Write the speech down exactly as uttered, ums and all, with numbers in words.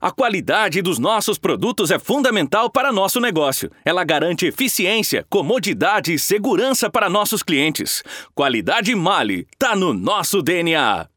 A qualidade dos nossos produtos é fundamental para nosso negócio. Ela garante eficiência, comodidade e segurança para nossos clientes. Qualidade Mali, tá no nosso D N A.